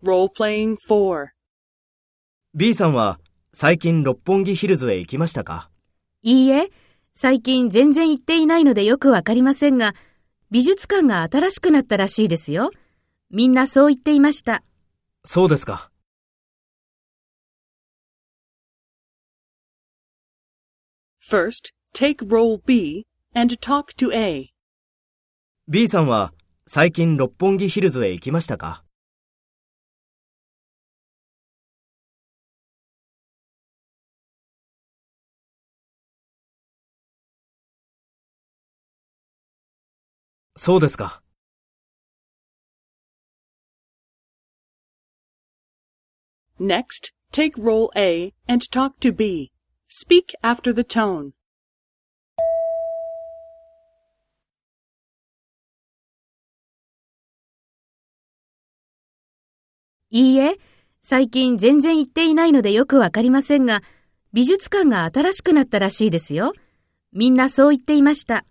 Role-playing 4. B さんは最近六本木ヒルズへ行きましたか？ いいえ、最近全然行っていないのでよくわかりませんが、美術館が新しくなったらしいですよ。みんなそう言っていました。 そうですか。 First, take role B and talk to A. B さんは最近六本木ヒルズへ行きましたか？そうですか。 Next, take role A and talk to B. Speak after the tone. いいえ、最近全然行っていないのでよくわかりませんが、美術館が新しくなったらしいですよ。みんなそう言っていました。